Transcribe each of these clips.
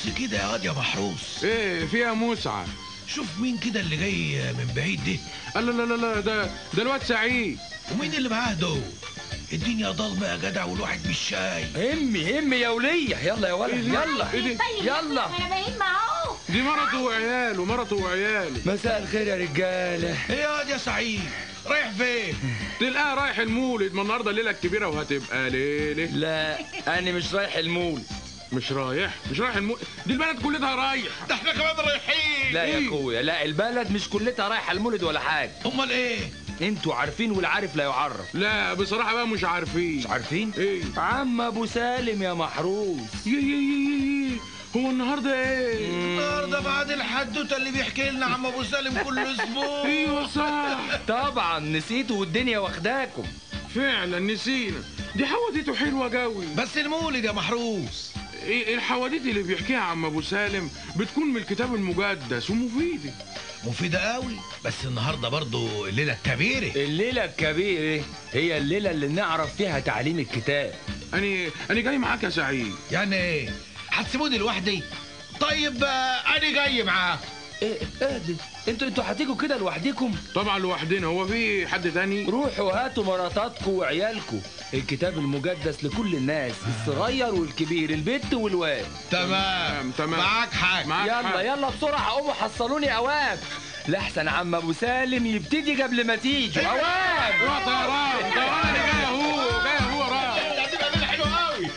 بص كده يا واد يا محروس. ايه فيها مسعى؟ شوف مين كده اللي جاي من بعيد دي. لا لا لا لا، ده الواد سعيد. ومين اللي معاه دول؟ الدنيا ضلمه يا جدع والواحد مش شايف. همي يا وليه، يلا يا ولد يلا. ايه دي؟ يلا انا باين معاه. دي مرته وعياله. مساء الخير يا رجاله. ايه يا واد يا سعيد رايح فين؟ تلقاه رايح المولد، ما النهارده الليله الكبيره وهتبقى ليله. لا انا مش رايح المول. مش رايح المولد؟ دي البلد كلها رايحه. ده احنا كمان رايحين. لا يا اخويا، لا البلد مش كلها رايحه المولد ولا حاجه. امال ايه؟ انتوا عارفين والعارف لا يعرف. لا بصراحه بقى مش عارفين. مش عارفين؟ ايه؟ عم ابو سالم يا محروس. يي هو النهارده ايه؟ النهارده بعد الحدوته اللي بيحكي لنا عم ابو سالم كل اسبوع. ايوه صح. طبعا نسيتوا والدنيا واخداكم. فعلا نسينا. دي حواديته حلوه قوي. بس المولد يا محروس. ايه الحواديت اللي بيحكيها عم ابو سالم بتكون من الكتاب المقدس ومفيده. مفيدة قوي. بس النهارده برضو الليله الكبيره. الليله الكبيره هي الليله اللي نعرف فيها تعليم الكتاب. انا جاي معاك يا سعيد. يعني ايه؟ هتسيبوني لوحدي؟ طيب انا جاي معاك. ايه دي؟ انتوا هتيجوا كده لوحديكم؟ طبعا لوحدنا، هو في حد تاني؟ روحوا هاتوا مراتاتكم وعيالكم. الكتاب المقدس لكل الناس، الصغير والكبير، البت والواد. تمام. معاك حاج. يلا بسرعه قوموا حصلوني اواب لحسن عم ابو سالم يبتدي قبل ما تيجي. اواب يا طيران انا جاي اهو راح. هتبقى ليله حلوه قوي.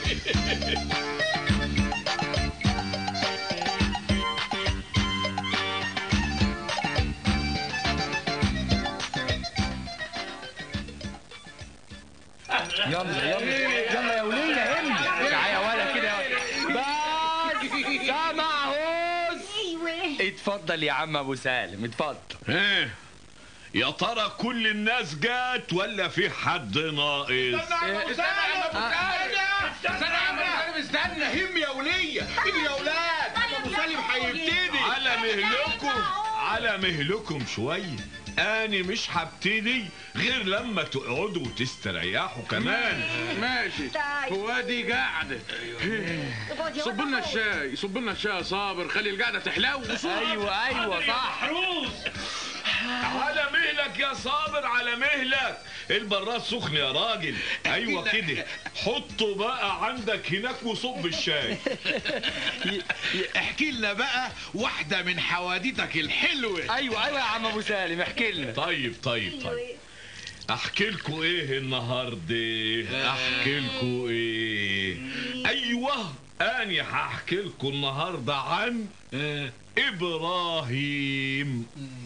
يلا يا وليه همي. تعالى يا ولا كده بس سامعوس. ايوه اتفضل يا عم ابو سالم اتفضل. ايه يا ترى كل الناس جات ولا في حد ناقص؟ استنى هم يا وليه. اجري يا ولاد ابو سالم هيبتدي. على مهلكم شويه. أنا مش هبتدي غير لما تقعدوا وتستريحوا كمان. ماشي. هو دي قاعدة. صب لنا الشاي يا صابر، خلي القعدة تحلو. ايوه صح. على مهلك يا صابر، على مهلك. البراد سخن يا راجل. ايوه كده. حطه بقى عندك هناك وصب الشاي. احكي لنا بقى واحدة من حواديتك الحلوة. ايوه يا عم ابو سالم احكي لنا. طيب احكي لكم ايه النهارده؟ احكي لكم ايه؟ ايوه انا هحكي لكم النهارده عن ابراهيم.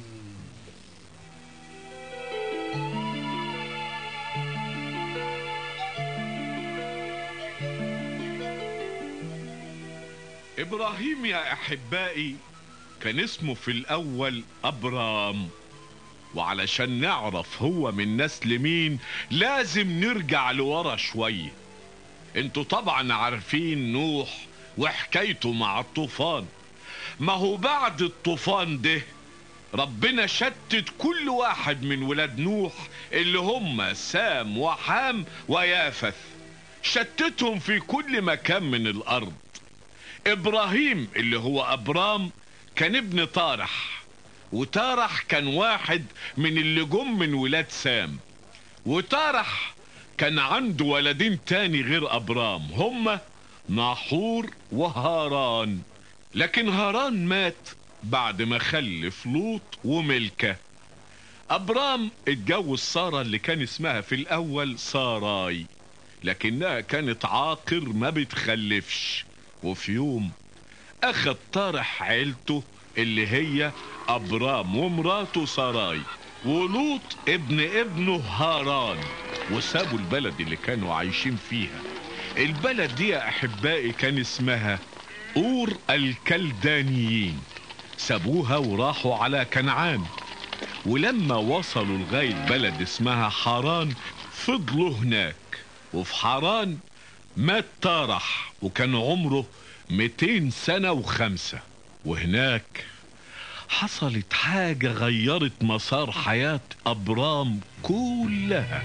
ابراهيم يا احبائي كان اسمه في الاول ابرام، وعلشان نعرف هو من نسل مين لازم نرجع لورا شوية. انتوا طبعا عارفين نوح وحكايته مع الطوفان. ما هو بعد الطوفان ده ربنا شتت كل واحد من ولاد نوح اللي هم سام وحام ويافث، شتتهم في كل مكان من الارض. ابراهيم اللي هو ابرام كان ابن طارح، وتارح كان واحد من اللي جم من ولاد سام، وتارح كان عنده ولدين تاني غير ابرام هما ناحور وهاران. لكن هاران مات بعد ما خلف لوط وملكة. ابرام اتجوز سارة اللي كان اسمها في الاول ساراي، لكنها كانت عاقر ما بتخلفش. وفي يوم اخد طارح عيلته اللي هي ابرام ومراته ساراي ولوط ابنه هاران، وسابوا البلد اللي كانوا عايشين فيها. البلد دي يا احبائي كان اسمها اور الكلدانيين. سابوها وراحوا على كنعان، ولما وصلوا لغاية بلد اسمها حران فضلوا هناك. وفي حران مات تارح وكان عمره 200 سنة و5. وهناك حصلت حاجة غيرت مسار حياة أبرام كلها.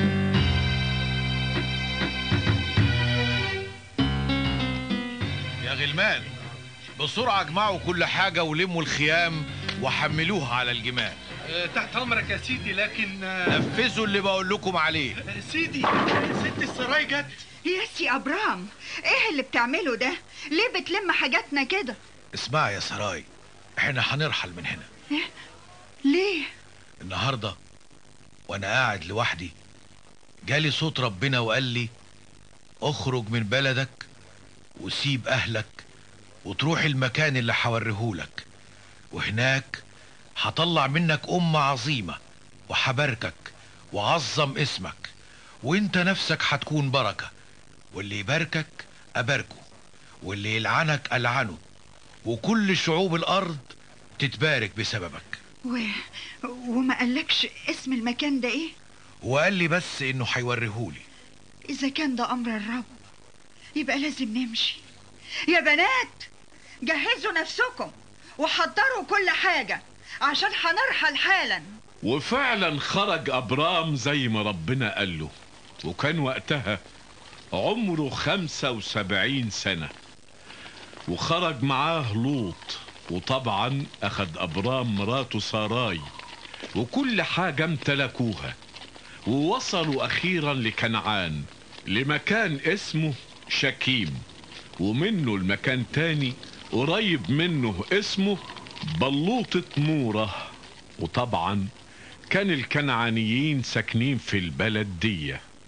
يا يا غلمان بسرعة اجمعوا كل حاجة ولموا الخيام وحملوها على الجمال. تحت امرك يا سيدي، لكن نفذوا اللي بقول لكم عليه. سيدي ست السراي جت. يا سي ابرام، ايه اللي بتعمله ده؟ ليه بتلم حاجاتنا كده؟ اسمع يا سراي، احنا هنرحل من هنا. إيه؟ ليه؟ النهاردة وانا قاعد لوحدي جالي صوت ربنا وقال لي اخرج من بلدك وسيب اهلك وتروح المكان اللي هوريهولك، وهناك هطلع منك أمة عظيمة وحباركك وعظم اسمك، وانت نفسك هتكون بركة، واللي يباركك أباركه واللي يلعنك ألعنه، وكل شعوب الأرض تتبارك بسببك. وما قالكش اسم المكان ده ايه؟ وقال لي بس انه هيوريهولي. اذا كان ده امر الرب يبقى لازم نمشي. يا بنات جهزوا نفسكم وحضروا كل حاجة عشان هنرحل حالا. وفعلا خرج أبرام زي ما ربنا قال له، وكان وقتها عمره 75 سنة، وخرج معاه لوط، وطبعا أخد أبرام مراته ساراي وكل حاجة امتلكوها، ووصلوا أخيرا لكنعان، لمكان اسمه شكيم، ومنه المكان تاني قريب منه اسمه بلوطة مورة. وطبعا كان الكنعانيين ساكنين في البلد دي.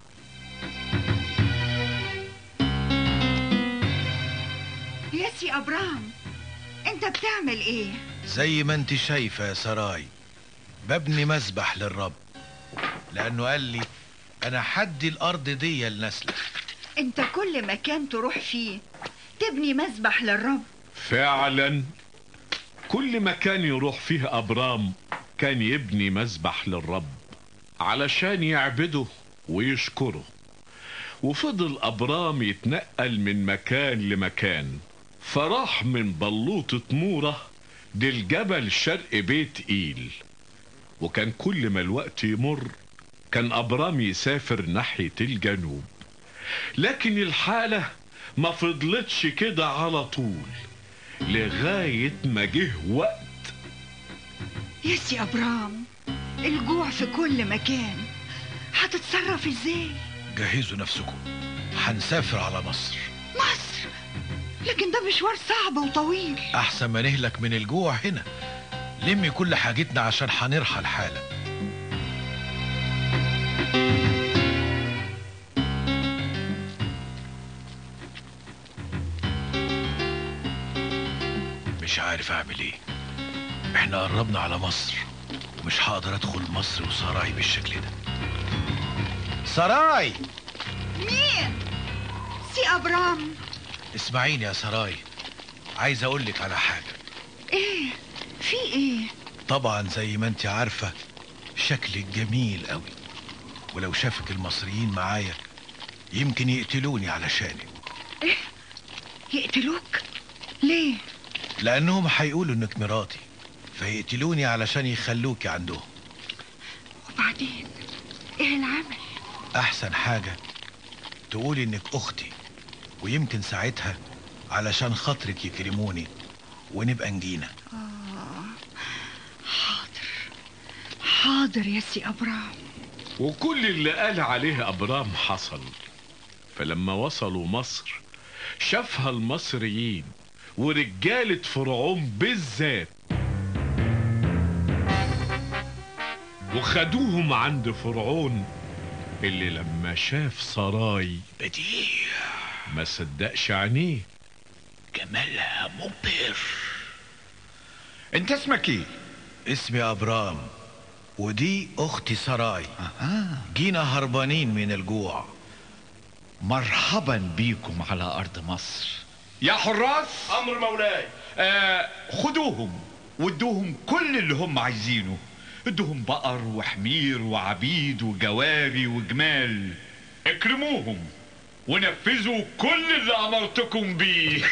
يا سي أبرام، انت بتعمل ايه؟ زي ما انت شايفة يا سراي، ببني مسبح للرب، لأنه قال لي أنا حدي الأرض دي لنسلك. انت كل مكان تروح فيه تبني مسبح للرب. فعلا كل مكان يروح فيه أبرام كان يبني مسبح للرب علشان يعبده ويشكره. وفضل أبرام يتنقل من مكان لمكان، فراح من بلوطة مورة للجبل شرق بيت إيل، وكان كل ما الوقت يمر كان أبرام يسافر ناحية الجنوب. لكن الحالة ما فضلتش كده على طول، لغاية ما جه وقت. يا سي أبرام، الجوع في كل مكان، هتتصرف ازاي؟ جهزوا نفسكم، هنسافر على مصر. مصر؟ لكن ده مشوار صعب وطويل. أحسن ما نهلك من الجوع هنا. لمي كل حاجتنا عشان هنرحل حالا. مش عارف اعمل ايه، احنا قربنا على مصر ومش هقدر ادخل مصر وسراي بالشكل ده. سراي! مين؟ سي أبرام. اسمعيني يا سراي، عايز اقولك على حاجة. ايه؟ في ايه؟ طبعا زي ما انت عارفة شكلك جميل قوي، ولو شافك المصريين معايا يمكن يقتلوني علشانك. ايه؟ يقتلوك؟ ليه؟ لانهم هيقولوا انك مراتي، فيقتلوني علشان يخلوكي عندهم. وبعدين ايه العمل؟ احسن حاجة تقولي انك اختي، ويمكن ساعتها علشان خاطرك يكرموني ونبقى نجينا. حاضر حاضر يا سي أبرام. وكل اللي قال عليه أبرام حصل. فلما وصلوا مصر شافها المصريين ورجالة فرعون بالذات، وخدوهم عند فرعون، اللي لما شاف سراي بديع ما صدقش عينيه. جمالها مبهر. انت اسمك ايه؟ اسمي ابرام، ودي اختي سراي. جينا هربانين من الجوع. مرحبا بيكم على ارض مصر. يا حراس، امر مولاي. خدوهم وادوهم كل اللي هم عايزينه. ادوهم بقر وحمير وعبيد وجواري وجمال. اكرموهم ونفذوا كل اللي امرتكم بيه.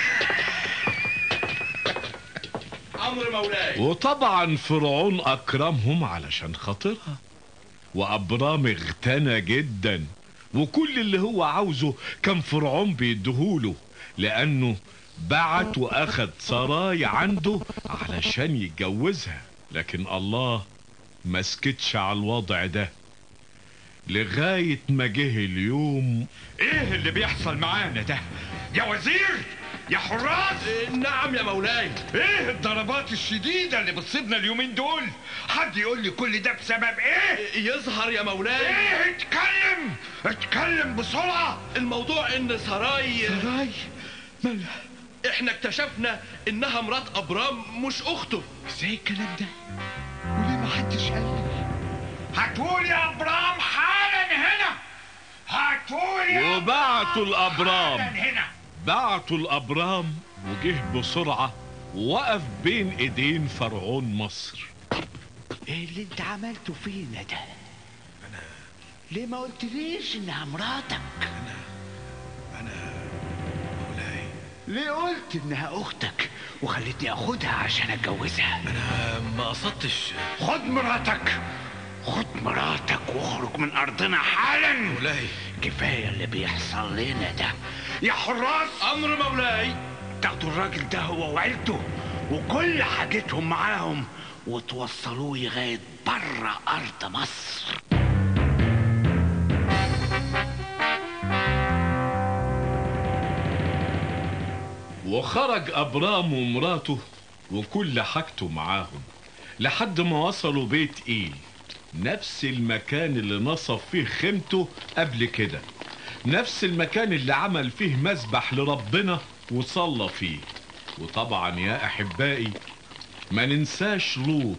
امر مولاي. وطبعا فرعون اكرمهم علشان خاطرها، وابرام اغتنى جدا، وكل اللي هو عاوزه كان فرعون بيديهوله، لانه بعت واخد سراي عنده علشان يتجوزها، لكن الله ما سكتش على الوضع ده لغاية ما جه اليوم. ايه اللي بيحصل معانا ده يا وزير يا حراس؟ نعم يا مولاي. ايه الضربات الشديدة اللي بتصيبنا اليومين دول؟ حد يقول لي كل ده بسبب ايه؟ يظهر يا مولاي. ايه؟ اتكلم بسرعة. الموضوع ان سراي مالها؟ احنا اكتشفنا انها مرات ابرام مش اخته. ازاي الكلام ده؟ وليه ما حدش قال لي؟ هاتولي يا ابرام حالا هنا. هاتولي وبعتوا الابرام. هنا. بعتوا الابرام وجه بسرعة ووقف بين ايدين فرعون مصر. ايه اللي انت عملته فينا ده؟ ليه ما قلتليش انها مراتك؟ انا مولاي، ليه قلت انها اختك وخلتني اخدها عشان اتجوزها؟ انا ما قصدتش. خد مراتك، خد مراتك واخرج من ارضنا حالا. مولاي كفايه اللي بيحصل لنا ده. يا حراس، امر مولاي. تاخدوا الراجل ده هو وعيلته وكل حاجتهم معاهم وتوصلوه لغايه بره ارض مصر. وخرج ابرام ومراته وكل حاجته معاهم لحد ما وصلوا بيت ايل، نفس المكان اللي نصب فيه خيمته قبل كده، نفس المكان اللي عمل فيه مسبح لربنا وصلى فيه. وطبعا يا احبائي ما ننساش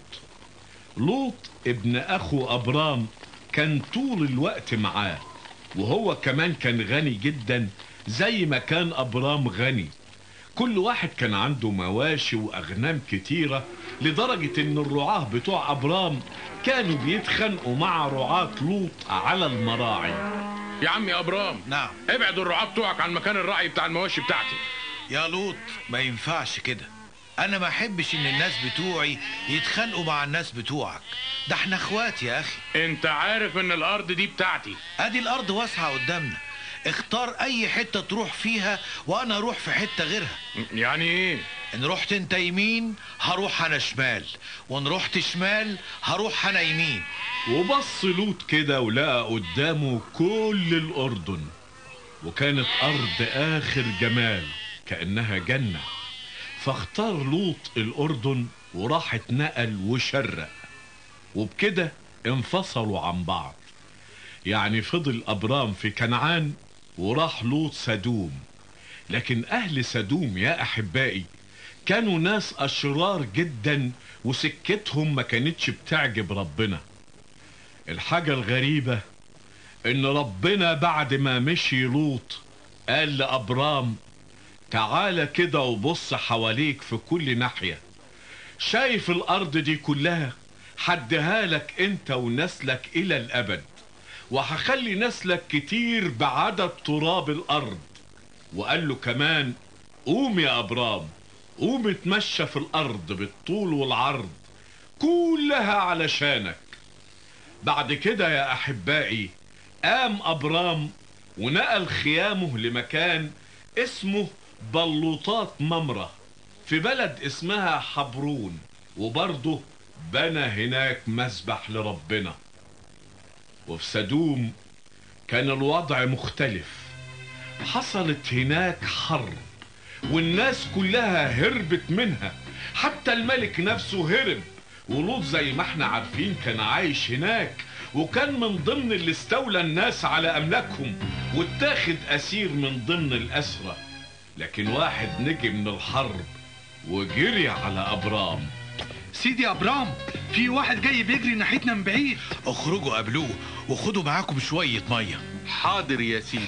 لوط ابن اخو ابرام كان طول الوقت معاه، وهو كمان كان غني جدا زي ما كان ابرام غني. كل واحد كان عنده مواشي واغنام كتيرة لدرجة ان الرعاة بتوع ابرام كانوا بيتخانقوا مع رعاة لوط على المراعي. يا عم يا ابرام، نعم. ابعد الرعاة بتوعك عن مكان الرعي بتاع المواشي بتاعتي. يا لوط ما ينفعش كده، انا ما احبش ان الناس بتوعي يتخانقوا مع الناس بتوعك، ده احنا اخوات يا اخي. انت عارف ان الارض دي بتاعتي. ادي الارض واسعة قدامنا، اختار اي حتة تروح فيها وانا اروح في حتة غيرها. يعني ايه؟ ان رحت انت يمين هروح انا شمال، وان رحت شمال هروح انا يمين. وبص لوط كده ولقى قدامه كل الاردن، وكانت ارض اخر جمال كأنها جنة. فاختار لوط الاردن وراح اتنقل وشرق، وبكده انفصلوا عن بعض. يعني فضل ابرام في كنعان وراح لوط سدوم. لكن اهل سدوم يا احبائي كانوا ناس اشرار جدا وسكتهم ما كانتش بتعجب ربنا. الحاجة الغريبة ان ربنا بعد ما مشي لوط قال لابرام تعالى كده وبص حواليك في كل ناحية، شايف الارض دي كلها؟ حدها لك انت ونسلك الى الابد، وهخلي نسلك كتير بعدد تراب الارض. وقال له كمان قوم يا ابرام، قوم اتمشى في الارض بالطول والعرض كلها علشانك. بعد كده يا احبائي قام ابرام ونقل خيامه لمكان اسمه بلوطات ممرة في بلد اسمها حبرون، وبرضه بنى هناك مسبح لربنا. وفي سدوم كان الوضع مختلف، حصلت هناك حرب والناس كلها هربت منها، حتى الملك نفسه هرب. ولوط زي ما احنا عارفين كان عايش هناك، وكان من ضمن اللي استولى الناس على املاكهم واتاخد اسير من ضمن الاسرى. لكن واحد نجي من الحرب وجري على ابرام. سيدي ابرام، في واحد جاي بيجري ناحيتنا من بعيد. اخرجوا قابلوه وخدوا معاكم شوية مية. حاضر يا سيدي.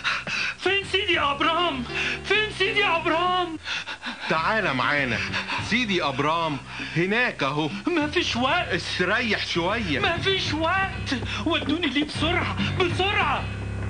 فين سيدي ابرام؟ فين سيدي ابرام؟ تعالى معانا. سيدي ابرام هناك اهو. مفيش وقت. استريح شوية. مفيش وقت، ودوني ليه بسرعة بسرعة.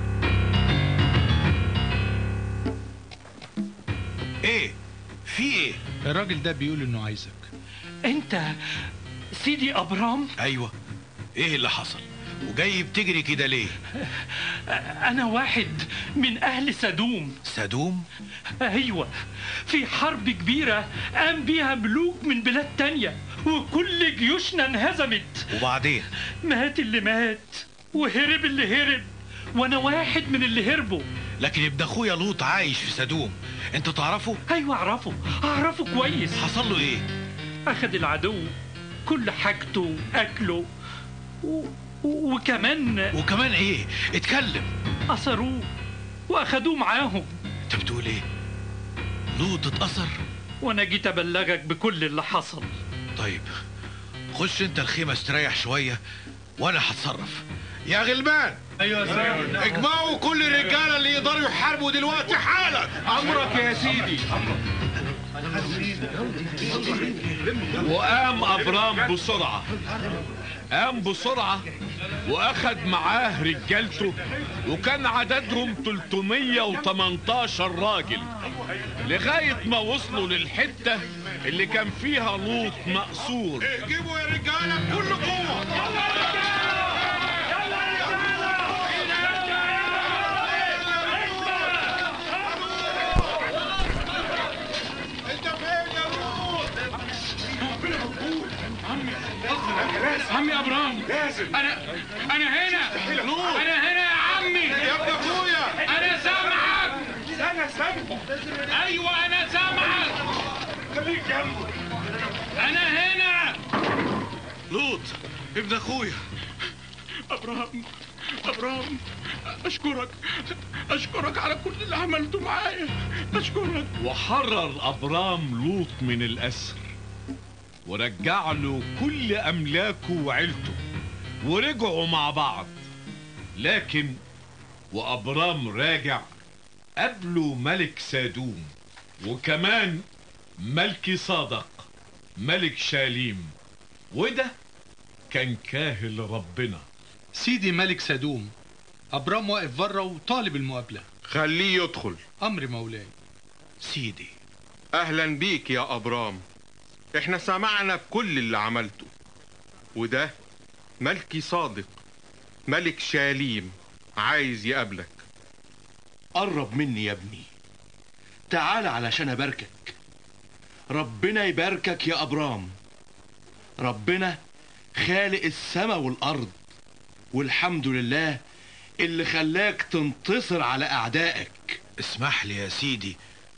ايه في ايه؟ الراجل ده بيقول انه عايزك. انت سيدي ابرام؟ ايوه. ايه اللي حصل؟ وجاي بتجري كده ليه؟ أنا واحد من أهل سدوم. سدوم؟ أيوة، في حرب كبيرة قام بيها ملوك من بلاد تانية وكل جيوشنا انهزمت. وبعدين؟ مات اللي مات وهرب اللي هرب، وأنا واحد من اللي هربوا. لكن ابن أخويا لوط عايش في سدوم، أنت تعرفه؟ أيوة أعرفه كويس. حصل له إيه؟ أخذ العدو كل حاجته أكله وكمان إيه؟ اتكلم. أسروه وأخدوه معاهم. أنت بتقول إيه؟ لوط اتأثر؟ وأنا جيت أبلغك بكل اللي حصل. طيب خش أنت الخيمة استريح شوية وأنا هتصرف. يا غلمان. ايوه يا سيدي. اجمعوا كل الرجاله اللي يقدروا يحاربوا دلوقتي حالا. امرك يا سيدي. وقام ابرام بسرعه واخد معاه رجالته، وكان عددهم 318 راجل، لغايه ما وصلوا للحته اللي كان فيها لوط مأسور. اجيبوا يا رجاله بكل قوه. عمي ابرام، انا هنا. انا هنا يا عمي. يا ابن اخويا انا سامعك. ايوه انا سامعك. خليك جنبه. انا هنا. لوط ابن اخويا. ابرام، اشكرك على كل اللي عملته معايا. اشكرك. وحرر ابرام لوط من الاسر، ورجع له كل املاكه وعيلته، ورجعوا مع بعض. لكن وابرام راجع قابله ملك سادوم، وكمان ملكي صادق ملك شاليم، وده كان كاهل ربنا. سيدي ملك سدوم، أبرام واقف بره وطالب المقابلة. خليه يدخل. أمر مولاي. سيدي. اهلا بيك يا ابرام، احنا سمعنا بكل اللي عملته، وده ملكي صادق ملك شاليم عايز يقابلك. قرب مني يا ابني، تعال علشان أباركك. ربنا يباركك يا أبرام. ربنا خالق السماء والأرض، والحمد لله اللي خلاك تنتصر على أعدائك. اسمح لي يا سيدي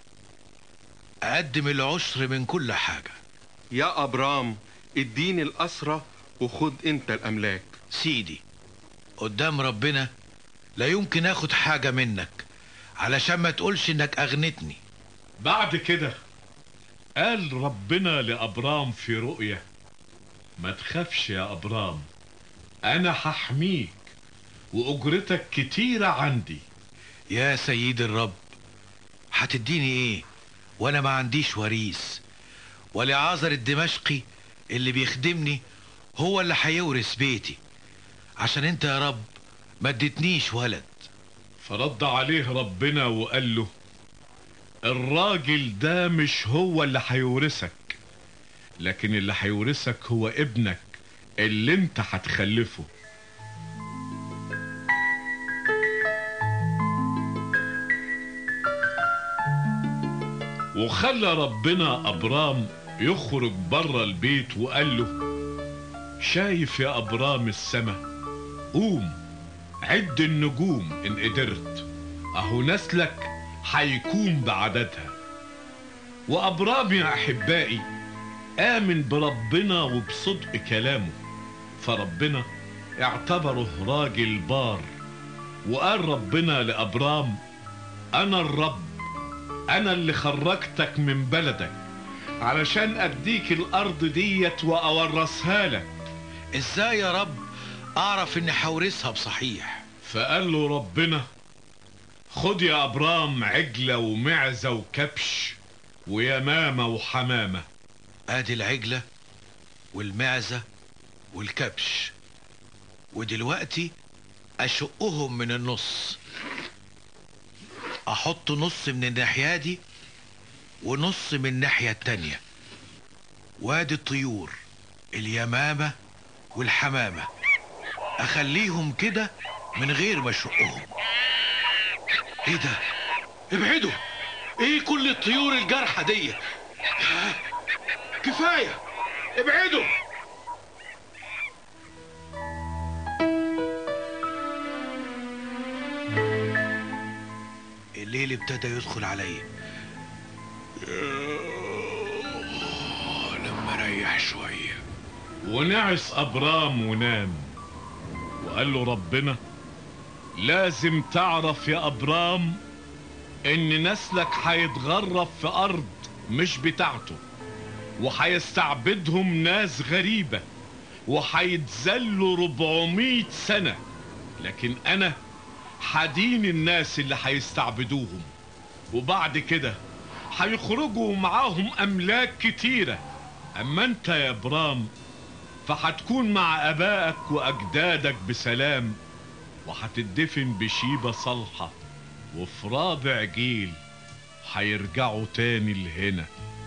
أقدم العشر من كل حاجة. يا أبرام اديني الأسرة وخد انت الأملاك. سيدي قدام ربنا لا يمكن اخد حاجة منك، علشان ما تقولش انك اغنتني. بعد كده قال ربنا لأبرام في رؤية: ما تخافش يا أبرام، أنا هحميك وأجرتك كتيرة عندي. يا سيد الرب، هتديني ايه وانا ما عنديش وريث؟ ولعازر الدمشقي اللي بيخدمني هو اللي هيورث بيتي، عشان انت يا رب ما اديتنيش ولد. فرد عليه ربنا وقال له: الراجل ده مش هو اللي هيورثك، لكن اللي هيورثك هو ابنك اللي انت هتخلفه. وخلى ربنا أبرام يخرج بره البيت وقال له: شايف يا أبرام السما؟ قوم عد النجوم إن قدرت، أهو نسلك هيكون بعددها. وأبرام يا أحبائي آمن بربنا وبصدق كلامه، فربنا اعتبره راجل بار. وقال ربنا لأبرام: أنا الرب، أنا اللي خرجتك من بلدك علشان أديك الأرض ديت وأورثها لك. إزاي يا رب أعرف إني هورثها بصحيح؟ فقال له ربنا: خد يا أبرام عجلة ومعزة وكبش ويمامة وحمامة. ادي العجلة والمعزة والكبش، ودلوقتي اشقهم من النص، احط نص من الناحية دي ونص من الناحية التانية. وادي الطيور اليمامة والحمامة، اخليهم كده من غير ما اشقهم. ايه ده؟ ابعدوا. ايه كل الطيور الجارحة دي؟ كفاية، ابعدوا. الليل ابتدى يدخل عليا. لما ريح شوية ونعس أبرام ونام، وقال له ربنا لازم تعرف يا أبرام إن نسلك هيتغرب في أرض مش بتاعته، وهيستعبدهم ناس غريبة، وهيتذلوا 400 سنة، لكن أنا هدين الناس اللي هيستعبدوهم، وبعد كده هيخرجوا معاهم أملاك كتيرة. أما أنت يا إبرام فهتكون مع أبائك وأجدادك بسلام، وهتدفن بشيبة صالحة، وفي رابع جيل هيرجعوا تاني لهنا.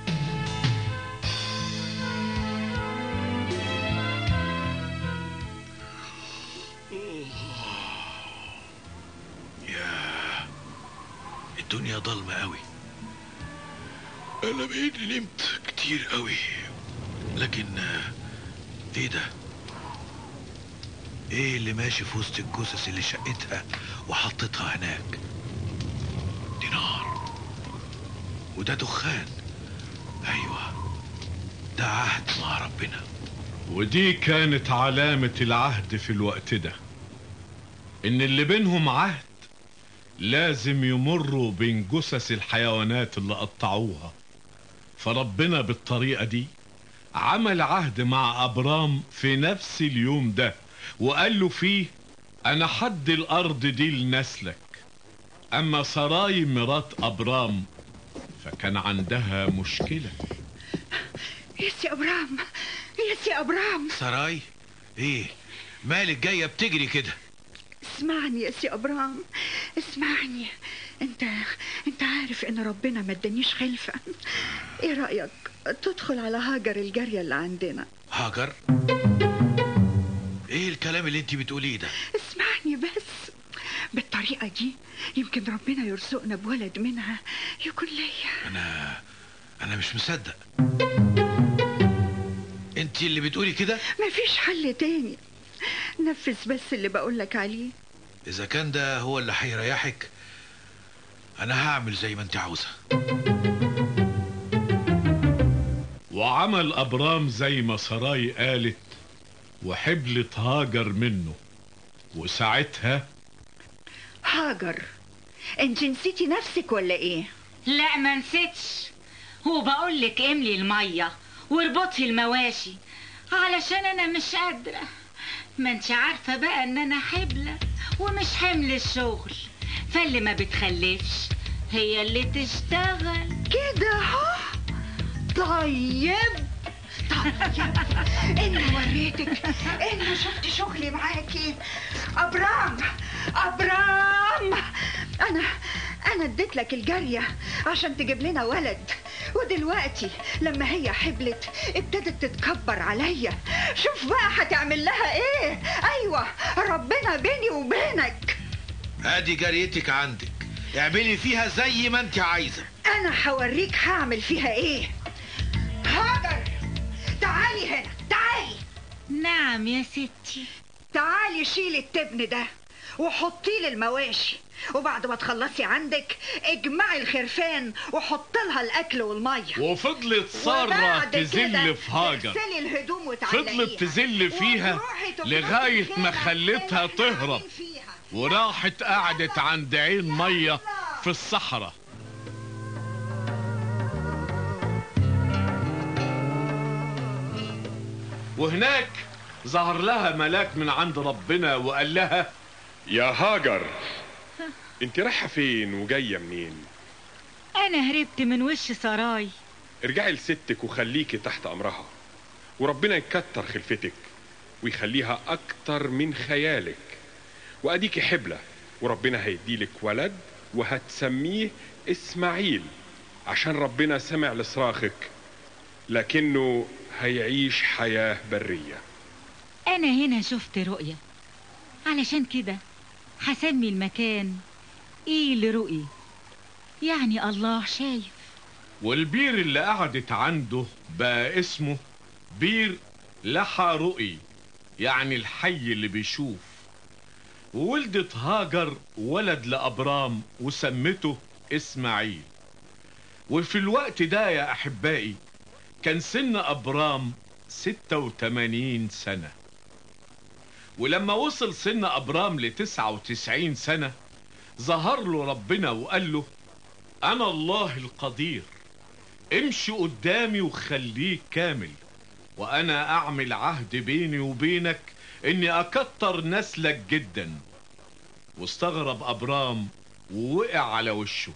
ياه، الدنيا ضلمة قوي. انا بقيت نمت كتير قوي، لكن ايه ده؟ ايه اللي ماشي في وسط الجثث اللي شقتها وحطتها هناك؟ دي نار وده دخان. ايوه، ده عهد مع ربنا. ودي كانت علامة العهد في الوقت ده، ان اللي بينهم عهد لازم يمروا بين جثث الحيوانات اللي قطعوها. فربنا بالطريقة دي عمل عهد مع أبرام في نفس اليوم ده، وقال له فيه أنا حد الأرض دي لنسلك. أما سراي مرات أبرام فكان عندها مشكلة. يا سي أبرام، يا سي أبرام. سراي، ايه مالك جاية بتجري كده؟ اسمعني يا سي أبرام، اسمعني. انت عارف ان ربنا ما ادانيش خلفة. ايه رأيك تدخل على هاجر الجارية اللي عندنا؟ هاجر؟ ايه الكلام اللي انت بتقوليه ده؟ اسمعني بس. بالطريقة دي يمكن ربنا يرزقنا بولد منها يكون ليا. انا مش مصدق. انت اللي بتقولي كده؟ مفيش حل تاني. نفذ بس اللي بقولك عليه. اذا كان ده هو اللي هيريحك انا هعمل زي ما انت عاوزة. وعمل أبرام زي ما سراي قالت، وحبلت هاجر منه. وساعتها هاجر، انت نسيتي نفسك ولا ايه؟ لا ما نسيتش، وبقولك املي المية واربطي المواشي علشان انا مش قادرة. ما انت عارفة بقى ان انا حبلة ومش حمل الشغل، فاللي ما بتخلفش هي اللي تشتغل كده اهو. طيب انا وريتك انا شفت شغلي معاكي. ابرام، انا اديت لك الجارية عشان تجيب لنا ولد، ودلوقتي لما هي حبلت ابتدت تتكبر عليا. شوف بقى هتعمل لها ايه. ايوه، ربنا بيني وبينك. ادي جاريتك عندك، اعملي فيها زي ما انت عايزة. انا هوريك هعمل فيها ايه. هاجر، تعالي هنا، تعالي. نعم يا ستي. تعالي شيلي التبن ده وحطيه للمواشي، وبعد ما تخلصي عندك اجمعي الخرفان وحط لها الاكل والميه. وفضلت سارة تزل في هاجر، فضلت تزل فيها لغاية ما خلتها تهرب، وراحت قعدت عند عين مية في الصحراء. وهناك ظهر لها ملاك من عند ربنا وقال لها يا هاجر، انت رايحة فين وجاية منين؟ انا هربت من وش سراي. ارجعي لستك وخليكي تحت امرها، وربنا يكتر خلفتك ويخليها اكتر من خيالك. واديكي حبلة، وربنا هيديلك ولد وهتسميه اسماعيل، عشان ربنا سمع لصراخك، لكنه هيعيش حياة برية. انا هنا شفت رؤية علشان كده هسمي المكان ايه لرؤي، يعني الله شايف. والبير اللي قعدت عنده بقى اسمه بير لحى رؤي، يعني الحي اللي بيشوف. وولدت هاجر ولد لأبرام وسمته إسماعيل. وفي الوقت ده يا أحبائي كان سن أبرام 86 سنة. ولما وصل سن أبرام ل99 سنة ظهر له ربنا وقال له: أنا الله القدير، امشي قدامي وخليك كامل، وأنا أعمل عهد بيني وبينك إني أكتر نسلك جدا. واستغرب أبرام ووقع على وشه،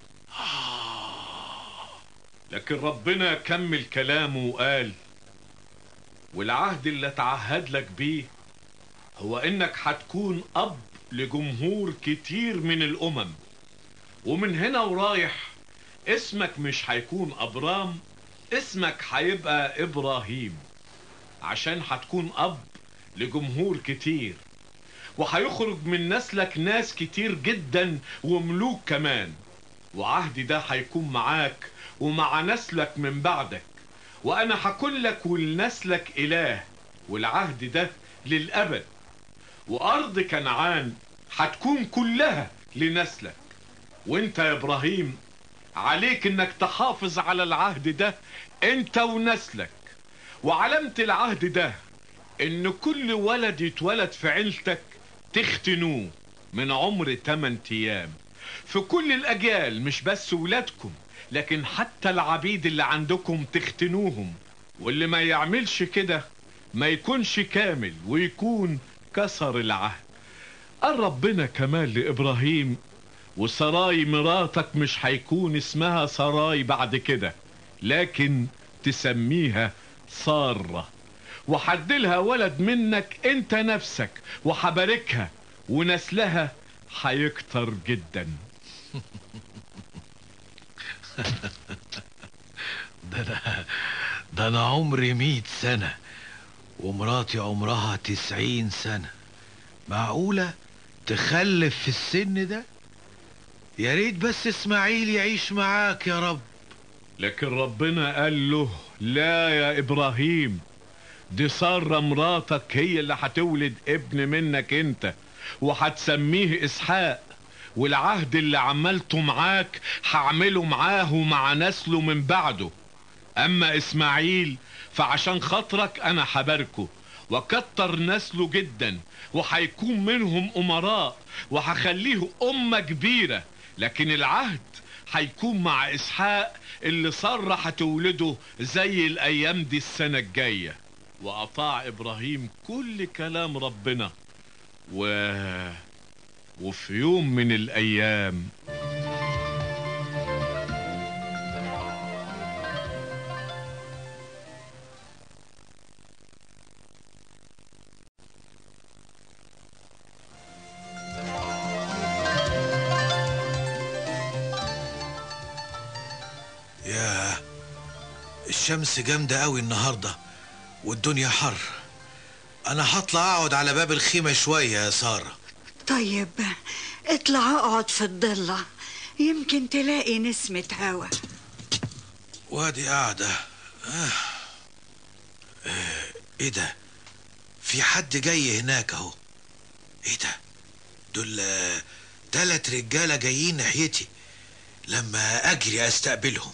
لكن ربنا كمل كلامه وقال: والعهد اللي اتعهد لك بيه هو إنك هتكون أب لجمهور كتير من الأمم، ومن هنا ورايح اسمك مش هيكون أبرام، اسمك هيبقى إبراهيم، عشان هتكون أب لجمهور كتير، وهيخرج من نسلك ناس كتير جدا وملوك كمان. وعهدي ده هيكون معاك ومع نسلك من بعدك، وأنا هكون لك ولنسلك إله، والعهد ده للأبد. وأرض كنعان هتكون كلها لنسلك. وانت يا إبراهيم عليك انك تحافظ على العهد ده انت ونسلك. وعلامة العهد ده ان كل ولد يتولد في عيلتك تختنوه من عمر 8 ايام في كل الاجيال، مش بس ولادكم لكن حتى العبيد اللي عندكم تختنوهم. واللي ما يعملش كده ما يكونش كامل ويكون كسر العهد. قال ربنا كمان لإبراهيم: وسراي مراتك مش هيكون اسمها سراي بعد كده، لكن تسميها سارة، وحدلها ولد منك انت نفسك، وحباركها ونسلها هيكتر جدا. ده انا عمري 100 سنة ومراتي عمرها 90 سنة. معقولة تخلف في السن ده؟ يا ريت بس اسماعيل يعيش معاك يا رب. لكن ربنا قال له: لا يا إبراهيم، دي سارة مراتك هي اللي هتولد ابن منك انت، وهتسميه إسحاق، والعهد اللي عملته معاك هعمله معاه ومع نسله من بعده. أما إسماعيل فعشان خاطرك أنا هباركه وكتر نسله جدا، وهيكون منهم أمراء، وهخليه أمة كبيرة. لكن العهد هيكون مع إسحاق اللي سارة هتولده زي الأيام دي السنة الجاية. وأطاع إبراهيم كل كلام ربنا. وفي يوم من الأيام الشمس جامدة قوي النهاردة والدنيا حر. انا هطلع اقعد على باب الخيمة شوية يا سارة. طيب اطلع اقعد في الضلة، يمكن تلاقي نسمة هوا. وادي قاعدة. ايه ده؟ في حد جاي هناك اهو. ايه ده؟ دول 3 رجالة جايين ناحيتي. لما اجري استقبلهم.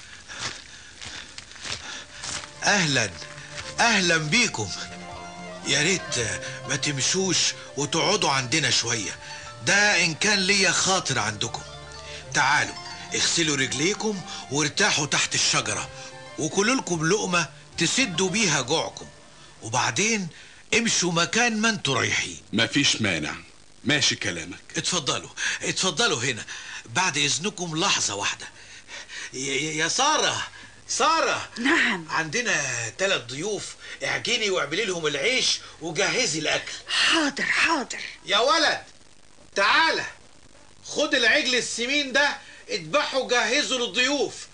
اهلا بيكم. يا ريت ما تمشوش وتقعدوا عندنا شوية، ده ان كان ليا خاطر عندكم. تعالوا اغسلوا رجليكم وارتاحوا تحت الشجرة، وكلوا لكم لقمة تسدوا بيها جوعكم، وبعدين امشوا مكان ما انتوا رايحين. مفيش مانع، ماشي كلامك. اتفضلوا هنا. بعد اذنكم لحظة واحدة. يا سارة. نعم. عندنا 3 ضيوف، اعجني واعملي لهم العيش وجهزي الاكل. حاضر. يا ولد تعالى، خد العجل السمين ده اذبحه وجهزه للضيوف.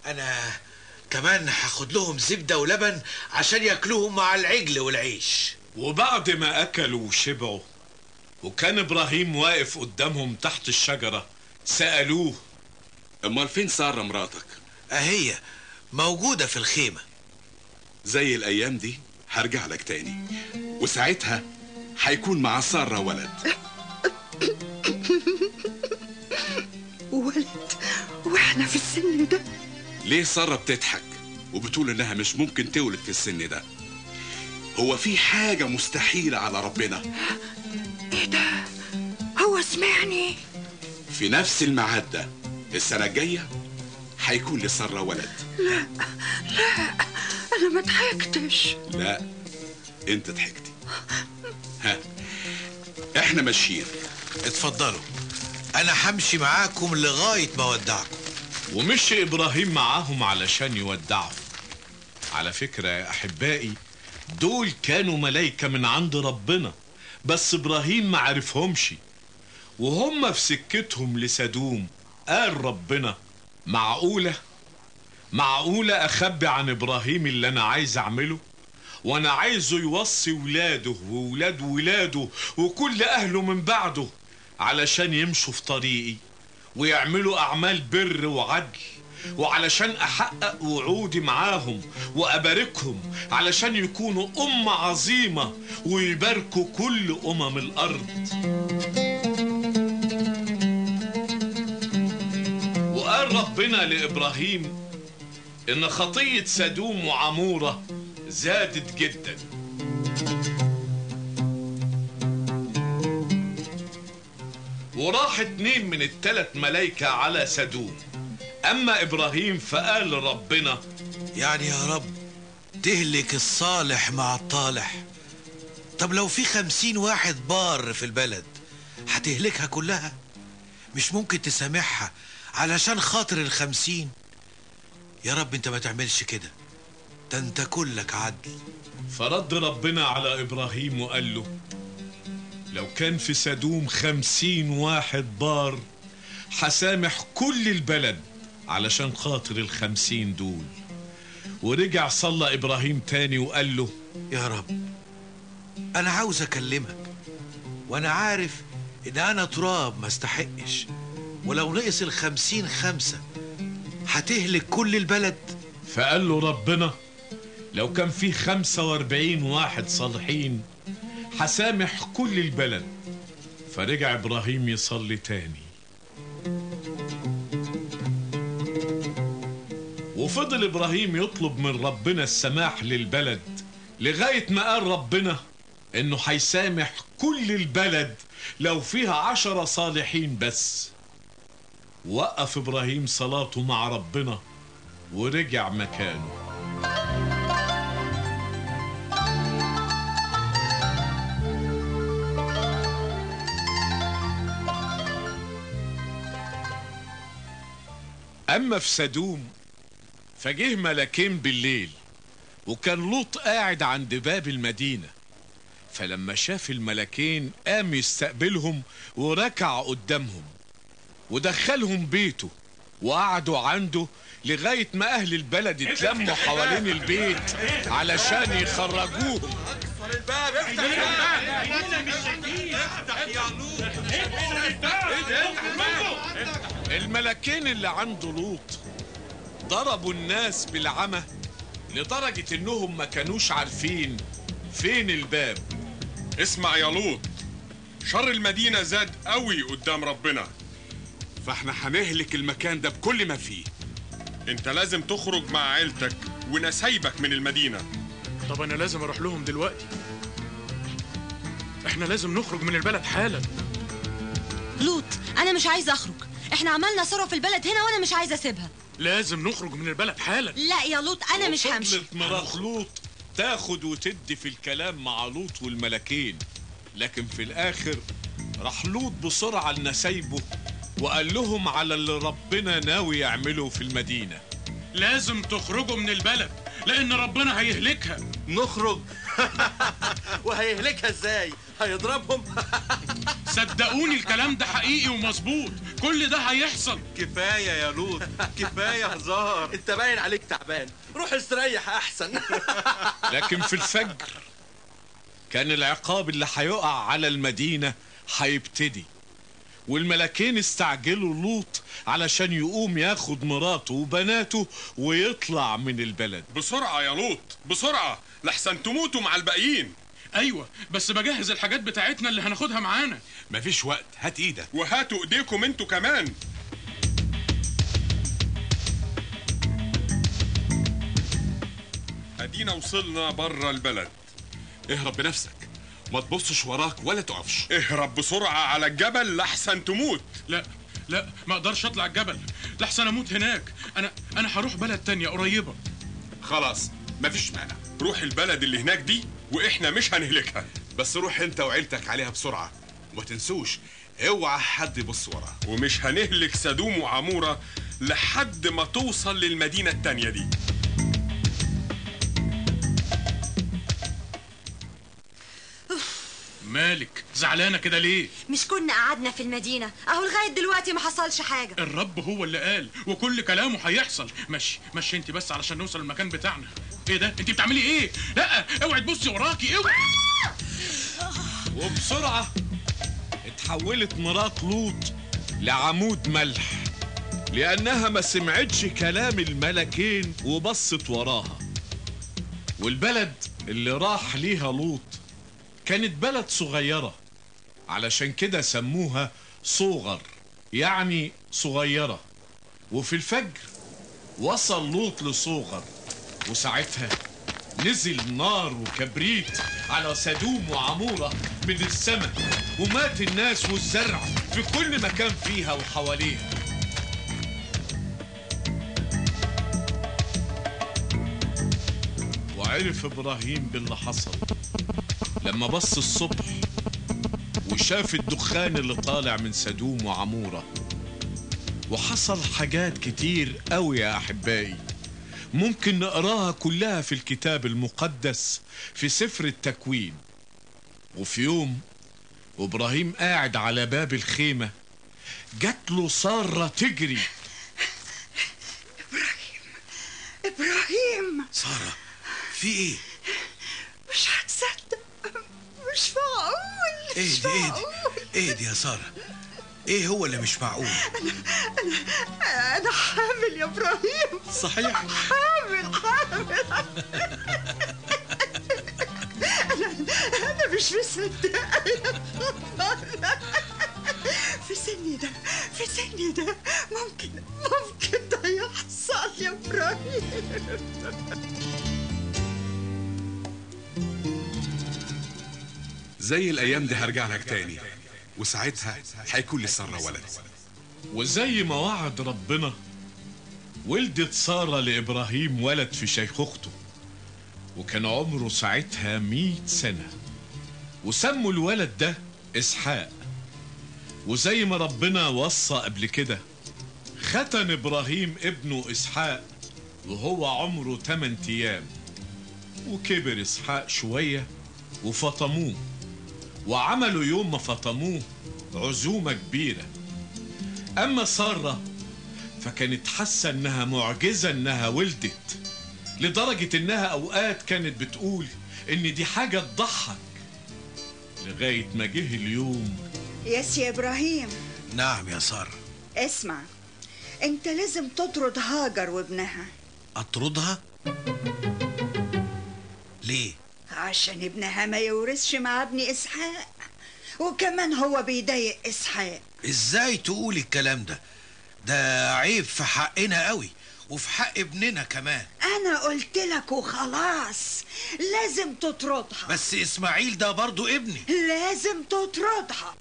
انا كمان هاخد لهم زبدة ولبن عشان ياكلوهم مع العجل والعيش. وبعد ما أكلوا وشبعوا وكان إبراهيم واقف قدامهم تحت الشجرة سألوه: أمال فين سارة مراتك؟ أهي موجودة في الخيمة. زي الأيام دي هرجع لك تاني، وساعتها هيكون مع سارة ولد. ولد واحنا في السن ده؟ ليه سارة بتضحك وبتقول انها مش ممكن تولد في السن ده؟ هو في حاجة مستحيلة على ربنا؟ ايه ده؟ هو سمعني؟ في نفس الميعاد ده السنة الجاية هيكون لسارة ولد. لا انا ما ضحكتش. لا انت ضحكتي. ها احنا ماشيين. اتفضلوا، انا همشي معاكم لغاية ما اودعكم. ومشي إبراهيم معاهم علشان يودعهم. على فكرة يا أحبائي، دول كانوا ملايكة من عند ربنا، بس إبراهيم ما عرفهمش. وهم في سكتهم لسدوم قال ربنا: معقولة أخبي عن إبراهيم اللي أنا عايز أعمله؟ وأنا عايزه يوصي ولاده وولاد ولاده وكل أهله من بعده علشان يمشوا في طريقي ويعملوا أعمال بر وعدل، وعلشان أحقق وعودي معاهم وأباركهم علشان يكونوا أمة عظيمة ويباركوا كل أمم الأرض. وقال ربنا لإبراهيم إن خطية سدوم وعمورة زادت جدا. وراح 2 من ال3 ملايكة على سدوم. أما إبراهيم فقال لربنا: يعني يا رب تهلك الصالح مع الطالح؟ طب لو في 50 واحد بار في البلد هتهلكها كلها؟ مش ممكن تسامحها علشان خاطر ال50؟ يا رب انت ما تعملش كده، ده انت كلك عدل. فرد ربنا على إبراهيم وقال له: لو كان في سدوم 50 واحد بار هسامح كل البلد علشان خاطر ال50 دول. ورجع صلى إبراهيم تاني وقال له: يا رب أنا عاوز أكلمك، وأنا عارف إن أنا تراب ما استحقش، ولو نقص ال50 5 هتهلك كل البلد. فقال له ربنا: لو كان فيه 45 واحد صالحين هسامح كل البلد. فرجع إبراهيم يصلي تاني. وفضل إبراهيم يطلب من ربنا السماح للبلد لغاية ما قال ربنا إنه هيسامح كل البلد لو فيها 10 صالحين بس. وقف إبراهيم صلاته مع ربنا ورجع مكانه. أما في سدوم فجه ملكين بالليل، وكان لوط قاعد عند باب المدينة. فلما شاف الملكين قام يستقبلهم وركع قدامهم ودخلهم بيته وقعدوا عنده لغاية ما أهل البلد اتلموا حوالين البيت علشان يخرجوهم. الباب افتح الملكين اللي عنده لوط ضربوا الناس بالعمى لدرجة انهم ما كانوش عارفين فين الباب. اسمع يا لوط، شر المدينة زاد قوي قدام ربنا، فاحنا هنهلك المكان ده بكل ما فيه. انت لازم تخرج مع عيلتك ونسايبك من المدينة. طب انا لازم اروح لهم دلوقتي، احنا لازم نخرج من البلد حالا. لوط انا مش عايزه اخرج، احنا عملنا ثروه في البلد هنا وانا مش عايزه اسيبها. لازم نخرج من البلد حالا. لا يا لوط انا مش همشي. وفضلت مرات لوط تاخد وتدي في الكلام مع لوط والملكين، لكن في الاخر راح لوط بسرعة لنسايبه وقال لهم على اللي ربنا ناوي يعمله في المدينة. لازم تخرجوا من البلد لان ربنا هيهلكها. نخرج؟ وهيهلكها ازاي؟ هيضربهم؟ صدقوني الكلام ده حقيقي ومظبوط، كل ده هيحصل. كفايه يا لوط، كفايه هزار، انت باين عليك تعبان، روح استريح احسن. لكن في الفجر كان العقاب اللي هيقع على المدينة هيبتدي، والملكين استعجلوا لوط علشان يقوم ياخد مراته وبناته ويطلع من البلد. بسرعة يا لوط بسرعة لحسن تموتوا مع الباقيين. ايوه بس بجهز الحاجات بتاعتنا اللي هناخدها معانا. مفيش وقت، هات ايدك وهاتوا ايديكم انتوا كمان. ادينا وصلنا بره البلد. اهرب بنفسك، ما تبصش وراك ولا تقفش. اهرب بسرعة على الجبل لحسن تموت. لا ما اقدرش اطلع الجبل لحسن اموت هناك. انا هروح بلد تانية قريبة. خلاص مفيش مانع، روح البلد اللي هناك دي واحنا مش هنهلكها. بس روح انت وعيلتك عليها بسرعة، وما تنسوش اوعى حد يبص وراها. ومش هنهلك سدوم وعمورة لحد ما توصل للمدينة التانية دي. مالك زعلانة كده ليه؟ مش كنا قعدنا في المدينة اهو لغاية دلوقتي ما حصلش حاجة. الرب هو اللي قال وكل كلامه هيحصل. مشي انت بس علشان نوصل المكان بتاعنا. ايه ده؟ انت بتعملي ايه؟ لا اوعي تبصي وراكي اوعي. وبسرعة اتحولت مرات لوط لعمود ملح، لأنها ما سمعتش كلام الملكين وبصت وراها. والبلد اللي راح ليها لوط كانت بلد صغيرة، علشان كده سموها صغر، يعني صغيرة. وفي الفجر وصل لوط لصغر، وساعتها نزل نار وكبريت على سدوم وعمورة من السماء، ومات الناس والزرع في كل مكان فيها وحواليها. وعرف إبراهيم باللي حصل لما بص الصبح وشاف الدخان اللي طالع من سدوم وعمورة. وحصل حاجات كتير قوي يا أحبائي ممكن نقراها كلها في الكتاب المقدس في سفر التكوين. وفي يوم وإبراهيم قاعد على باب الخيمة جات له سارة تجري. إبراهيم سارة في ايه؟ مش هتصدق، مش معقول. ايه دي يا سارة؟ ايه هو اللي مش معقول؟ أنا حامل يا إبراهيم. صحيح؟ حامل أنا مش مصدقة يا خبر. في سني ده ممكن ده يحصل يا إبراهيم. زي الايام دي هرجع لك تاني، وساعتها هيكون لسارة ولد. وزي ما وعد ربنا ولدت سارة لإبراهيم ولد في شيخوخته، وكان عمره ساعتها 100 سنة، وسموا الولد ده إسحاق. وزي ما ربنا وصى قبل كده ختن إبراهيم ابنه إسحاق وهو عمره 8 أيام. وكبر إسحاق شوية وفطموه، وعملوا يوم ما فطموه عزومة كبيرة. أما سارة فكانت حاسة إنها معجزة إنها ولدت، لدرجة إنها أوقات كانت بتقول إن دي حاجة تضحك، لغاية ما جه اليوم. يا إبراهيم. نعم يا سارة. اسمع، أنت لازم تطرد هاجر وابنها. أطردها؟ ليه؟ عشان ابنها ما يورثش مع ابن إسحاق، وكمان هو بيضايق إسحاق. إزاي تقول الكلام ده؟ ده عيب في حقنا قوي وفي حق ابننا كمان. أنا قلت لك وخلاص، لازم تطردها. بس إسماعيل ده برضو ابني. لازم تطردها.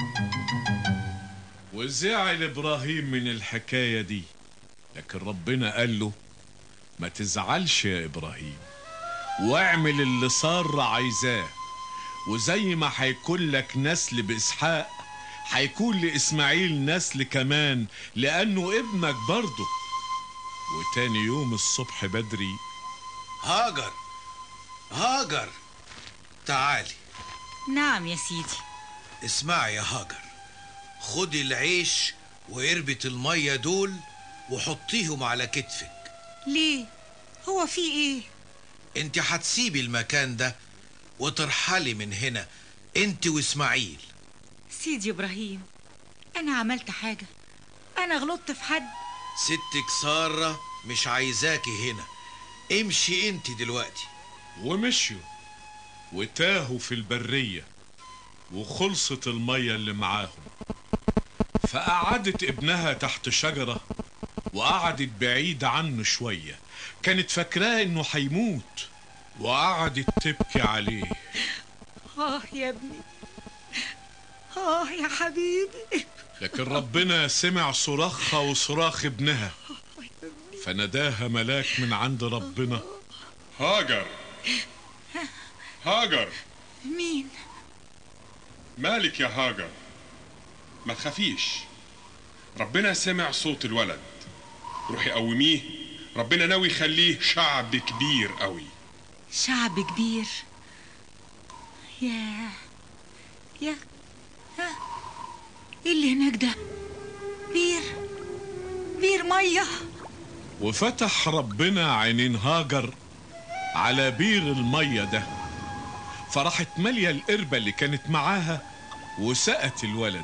وزعل إبراهيم من الحكاية دي، لكن ربنا قال له ما تزعلش يا إبراهيم، واعمل اللي سارة عايزاه، وزي ما هيكون لك نسل بإسحاق هيكون لإسماعيل نسل كمان، لأنه ابنك برضه. وتاني يوم الصبح بدري هاجر تعالي. نعم يا سيدي. اسمعي يا هاجر، خدي العيش وقربة المية دول وحطيهم على كتفك. ليه؟ هو في ايه؟ انت هتسيبي المكان ده وترحلي من هنا انت واسماعيل. سيدي إبراهيم، أنا عملت حاجة؟ أنا غلطت في حد؟ ستك سارة مش عايزاكي هنا، امشي انت دلوقتي. ومشيوا وتاهوا في البرية وخلصت المية اللي معاهم، فقعدت ابنها تحت شجرة وقعدت بعيد عنه شوية، كانت فاكراه انه هيموت وقعدت تبكي عليه. يا ابني، يا حبيبي. لكن ربنا سمع صراخها وصراخ ابنها، فناداها ملاك من عند ربنا: هاجر، هاجر. مين؟ مالك يا هاجر؟ ما تخافيش، ربنا سمع صوت الولد، روحي قوميه، ربنا ناوي يخليه شعب كبير قوي. شعب كبير؟ يا ايه اللي هناك ده؟ بير ميه. وفتح ربنا عينين هاجر على بير الميه ده، فراحت ماليه القربة اللي كانت معاها وسقت الولد.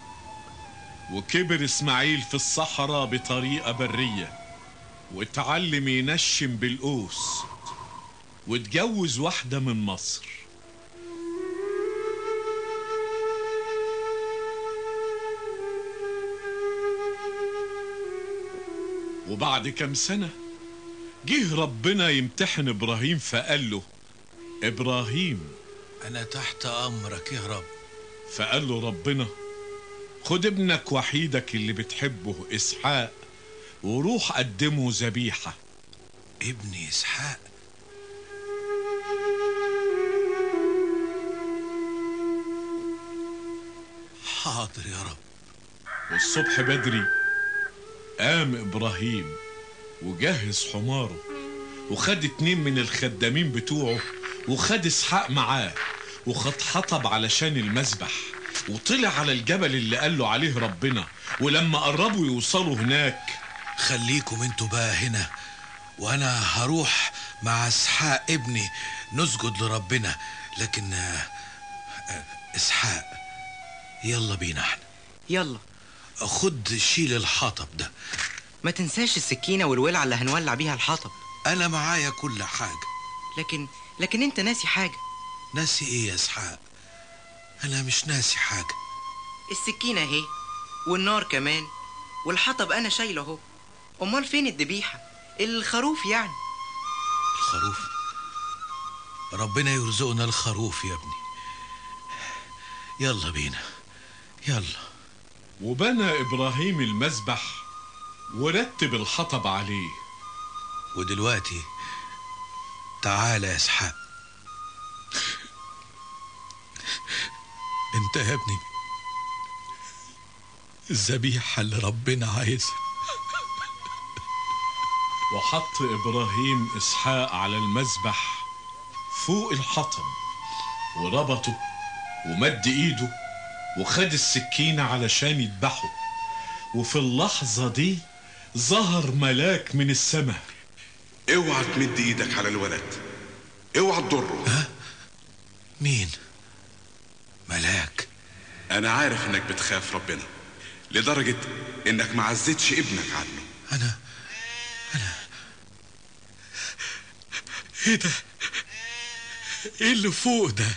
وكبر اسماعيل في الصحراء بطريقة برية، واتعلم ينشم بالقوس، واتجوز واحدة من مصر. وبعد كام سنة جه ربنا يمتحن إبراهيم، فقال له: إبراهيم، أنا تحت أمرك يا رب. فقال له ربنا: خد ابنك وحيدك اللي بتحبه إسحاق وروح قدمه ذبيحة. ابني إسحاق؟ حاضر يا رب. والصبح بدري قام إبراهيم وجهز حماره، وخد 2 من الخدامين بتوعه، وخد إسحاق معاه، وخد حطب علشان المذبح، وطلع على الجبل اللي قاله عليه ربنا. ولما قربوا يوصلوا هناك: خليكم انتوا بقى هنا، وانا هروح مع اسحاق ابني نسجد لربنا. لكن اسحاق، يلا بينا احنا. يلا خد شيل الحطب ده. ما تنساش السكينة والولعة اللي هنولع بيها الحطب. انا معايا كل حاجة. لكن انت ناسي حاجة. ناسي ايه يا اسحاق؟ انا مش ناسي حاجة. السكينة اهي، والنار كمان، والحطب انا شايله اهو. امال فين الذبيحة؟ الخروف يعني. الخروف؟ ربنا يرزقنا الخروف يا ابني. يلا بينا، يلا. وبنى إبراهيم المذبح ورتب الحطب عليه. ودلوقتي تعال يا اسحاق. انت يا ابني الذبيحة اللي ربنا عايزها. وحط إبراهيم إسحاق على المذبح فوق الحطب، وربطه ومد إيده وخد السكينة علشان يذبحه. وفي اللحظة دي ظهر ملاك من السماء. اوعى تمد ايدك على الولد، اوعى تضره. ها؟ مين؟ ملاك؟ انا عارف انك بتخاف ربنا لدرجة انك ما عزتش ابنك عنه. انا ايه ده؟ ايه اللي فوق ده؟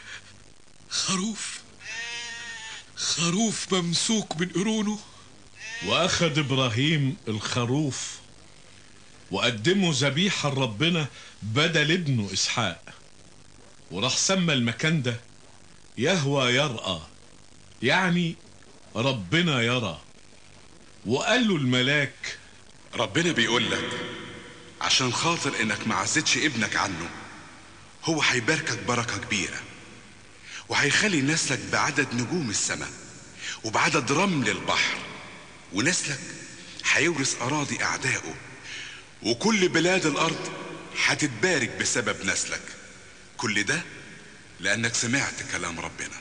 خروف ممسوك من قرونه. واخد ابراهيم الخروف وقدمه ذبيحة لربنا بدل ابنه اسحاق، وراح سمى المكان ده يهوى يرأى، يعني ربنا يرى. وقال له الملاك: ربنا بيقول لك عشان خاطر انك ما عزتش ابنك عنه، هو هيباركك بركة كبيرة، وهيخلي نسلك بعدد نجوم السماء وبعدد رمل البحر، ونسلك هيورث أراضي أعدائه، وكل بلاد الأرض هتتبارك بسبب نسلك. كل ده لأنك سمعت كلام ربنا.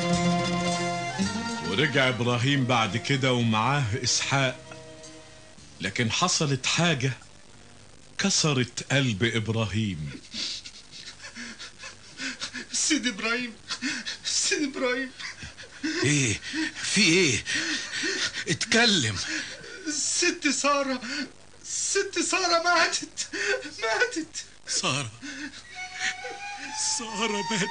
ورجع إبراهيم بعد كده ومعاه إسحاق، لكن حصلت حاجة كسرت قلب إبراهيم. سيد إبراهيم، سيد إبراهيم. ايه في ايه؟ اتكلم. ست سارة ماتت. سارة ماتت.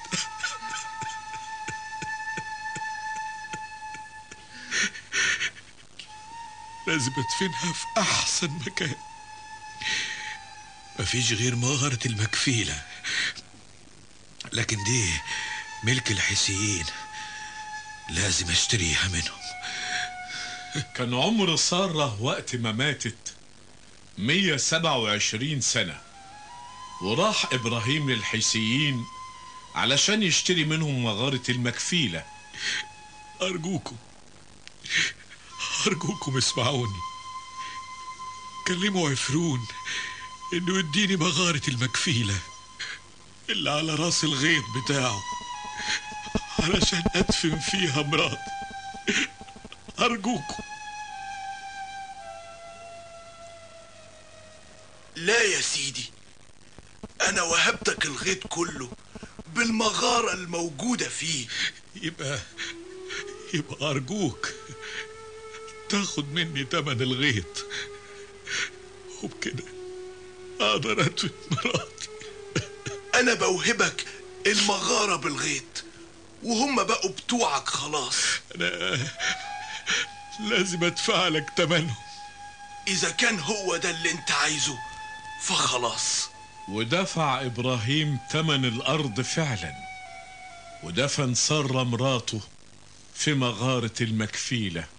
لازم ادفنها في احسن مكان. مفيش غير مغارة المكفيلة، لكن دي ملك الحيثيين، لازم اشتريها منهم. كان عمر سارة وقت ما ماتت 127 سنة، وراح إبراهيم للحيثيين علشان يشتري منهم مغارة المكفيلة. أرجوكم اسمعوني، كلموا عفرون إنه يديني مغارة المكفيلة اللي على راس الغيط بتاعه علشان أدفن فيها مراتي. أرجوكم. لا يا سيدي، أنا وهبتك الغيط كله بالمغارة الموجودة فيه. يبقى أرجوك تاخد مني تمن الغيط، وبكده أقدر أدفن مراتي. أنا بوهبك المغارة بالغيط، وهم بقوا بتوعك خلاص. أنا لازم أدفع لك تمنهم. إذا كان هو ده اللي أنت عايزه فخلاص. ودفع إبراهيم تمن الأرض فعلا، ودفن سارة مراته في مغارة المكفيلة.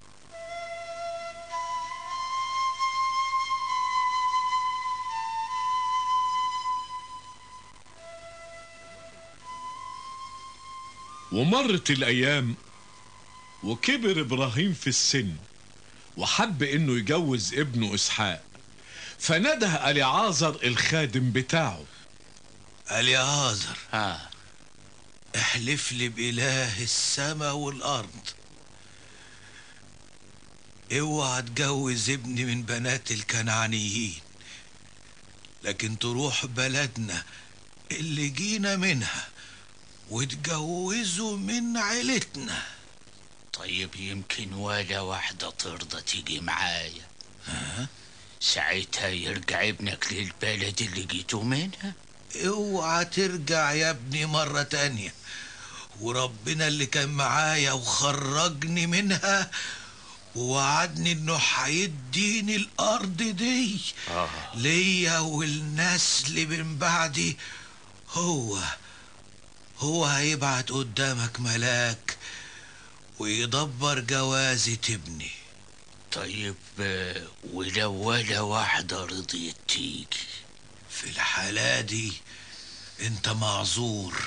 ومرت الأيام، وكبر إبراهيم في السن، وحب إنه يجوز ابنه إسحاق، فنده أليعازر الخادم بتاعه. أليعازر، احلف لي بإله السماء والأرض، اوعى تجوز ابني من بنات الكنعانيين، لكن تروح بلدنا اللي جينا منها وتجوزه من عيلتنا. طيب يمكن ولا واحدة ترضى تيجي معايا، ساعتها يرجع ابنك للبلد اللي جيتوا منها. اوعى ترجع يا ابني مرة تانية، وربنا اللي كان معايا وخرجني منها ووعدني انه هيديني الارض دي ليا والنسل من بعدي. هو هيبعت قدامك ملاك ويدبر جوازة ابني. طيب ولو ولا واحدة رضيت تيجي؟ في الحالة دي انت معذور،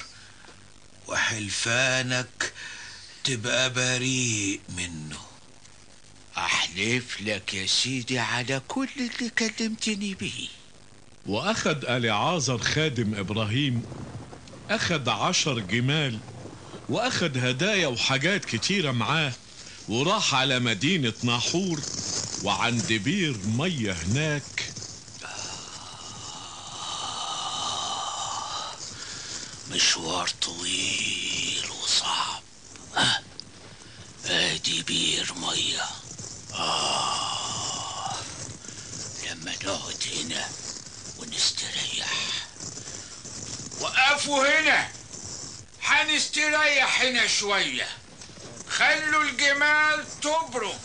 وحلفانك تبقى بريء منه. احلف لك يا سيدي على كل اللي كلمتني به. وأخد أليعازر خادم إبراهيم، أخد 10 جمال، وأخد هدايا وحاجات كتيرة معاه، وراح على مدينة ناحور وعند بير مية هناك. مشوار طويل وصعب. ادي بير مية. لما نقعد هنا ونستريح. وقفوا هنا، هنستريح هنا شوية. خلوا الجمال تبرك.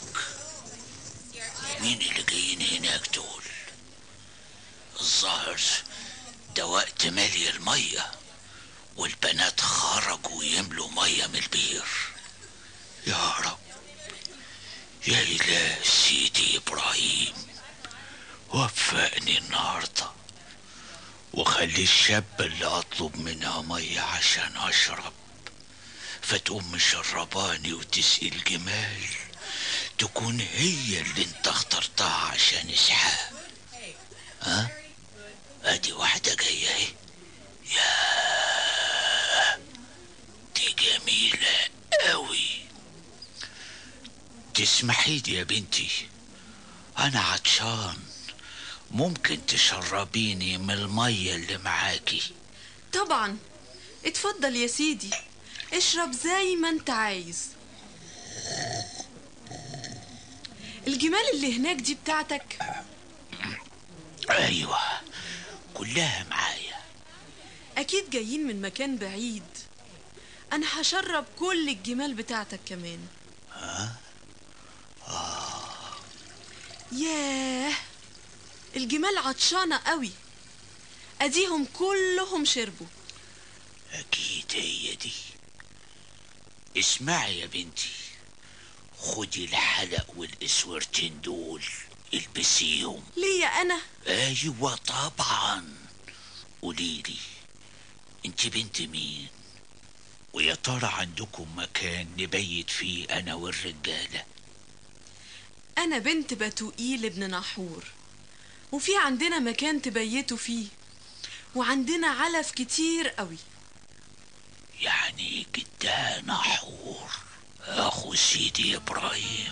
مين اللي جايين هناك دول؟ الظاهر ده وقت مالي المية، والبنات خرجوا يملوا مية من البير. يا رب، يا إله سيدي إبراهيم، وفقني النهاردة وخلي الشاب اللي أطلب منها مية عشان أشرب فتقوم مشرباني وتسقي الجمال تكون هي اللي انت اخترتها عشان إسحاق. ادي واحدة جاية اهي. يا دي جميلة قوي. تسمحي لي يا بنتي أنا عطشان، ممكن تشربيني من المية اللي معاكي؟ طبعا، اتفضل يا سيدي، اشرب زي ما انت عايز. الجمال اللي هناك دي بتاعتك؟ أيوة، كلها معايا. أكيد جايين من مكان بعيد. أنا هشرب كل الجمال بتاعتك كمان. ها؟ ياه، الجمال عطشانة قوي، أديهم كلهم شربوا. أكيد هي دي. اسمعي يا بنتي، خدي الحلق والإسورتين دول البسيهم. ليه يا أنا؟ أيوة طبعا. قوليلي، انت بنت مين؟ ويا ترى عندكم مكان نبيت فيه أنا والرجالة؟ أنا بنت بتوئيل ابن نحور، وفي عندنا مكان تبيتوا فيه، وعندنا علف كتير قوي. يعني جدها نحور أخو سيدي إبراهيم،